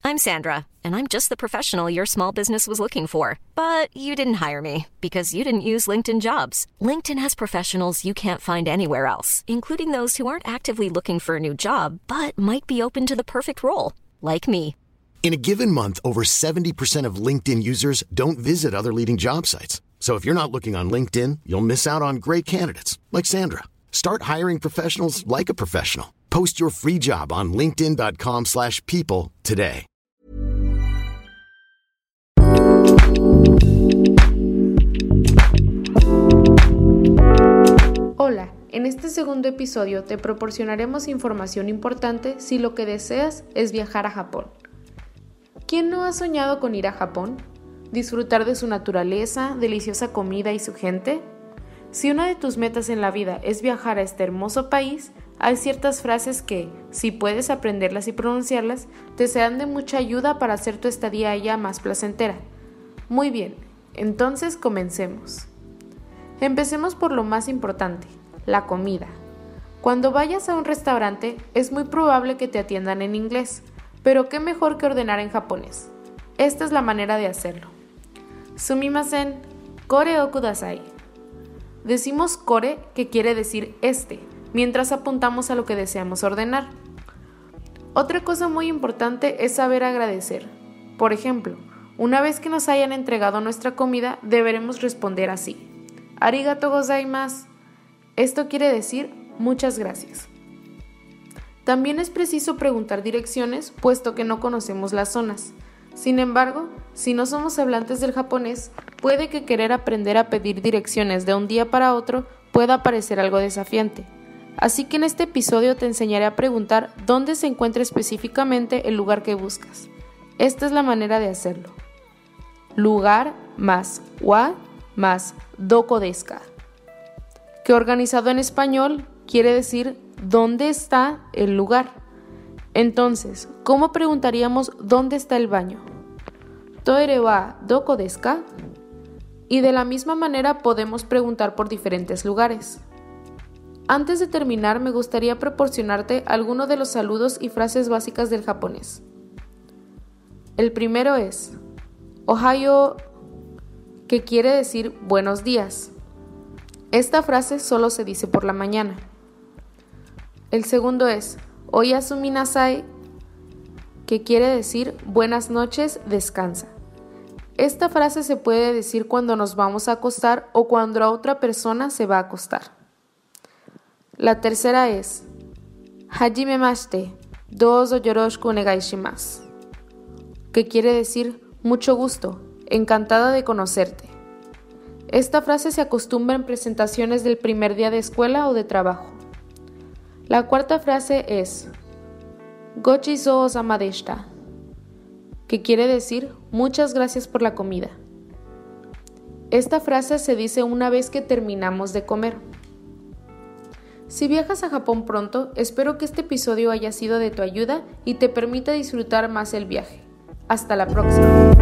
I'm Sandra, and I'm just the professional your small business was looking for. But you didn't hire me because you didn't use LinkedIn Jobs. LinkedIn has professionals you can't find anywhere else, including those who aren't actively looking for a new job, but might be open to the perfect role, like me. In a given month, over 70% of LinkedIn users don't visit other leading job sites. So if you're not looking on LinkedIn, you'll miss out on great candidates like Sandra. Start hiring professionals like a professional. Post your free job on linkedin.com/people today. Hola, en este segundo episodio te proporcionaremos información importante si lo que deseas es viajar a Japón. ¿Quién no ha soñado con ir a Japón? ¿Disfrutar de su naturaleza, deliciosa comida y su gente? Si una de tus metas en la vida es viajar a este hermoso país, hay ciertas frases que, si puedes aprenderlas y pronunciarlas, te serán de mucha ayuda para hacer tu estadía allá más placentera. Muy bien, entonces comencemos. Empecemos por lo más importante, la comida. Cuando vayas a un restaurante, es muy probable que te atiendan en inglés, pero qué mejor que ordenar en japonés. Esta es la manera de hacerlo. Sumimasen, kore o kudasai. Decimos kore, que quiere decir este, mientras apuntamos a lo que deseamos ordenar. Otra cosa muy importante es saber agradecer. Por ejemplo, una vez que nos hayan entregado nuestra comida, deberemos responder así: Arigato gozaimasu. Esto quiere decir muchas gracias. También es preciso preguntar direcciones, puesto que no conocemos las zonas. Sin embargo, si no somos hablantes del japonés, puede que querer aprender a pedir direcciones de un día para otro pueda parecer algo desafiante. Así que en este episodio te enseñaré a preguntar dónde se encuentra específicamente el lugar que buscas. Esta es la manera de hacerlo. Lugar más wa más doko desu ka, que organizado en español quiere decir ¿dónde está el lugar? Entonces, ¿cómo preguntaríamos dónde está el baño? Toire wa doko desu ka? Y de la misma manera podemos preguntar por diferentes lugares. Antes de terminar, me gustaría proporcionarte algunos de los saludos y frases básicas del japonés. El primero es Ohayo, que quiere decir buenos días. Esta frase solo se dice por la mañana. El segundo es Oyasumi nasai, que quiere decir buenas noches, descansa. Esta frase se puede decir cuando nos vamos a acostar o cuando a otra persona se va a acostar. La tercera es Hajimemashite, douzo yoroshiku onegai shimasu, que quiere decir mucho gusto, encantada de conocerte. Esta frase se acostumbra en presentaciones del primer día de escuela o de trabajo. La cuarta frase es Gochizou-sama deshita, que quiere decir muchas gracias por la comida. Esta frase se dice una vez que terminamos de comer. Si viajas a Japón pronto, espero que este episodio haya sido de tu ayuda y te permita disfrutar más el viaje. Hasta la próxima.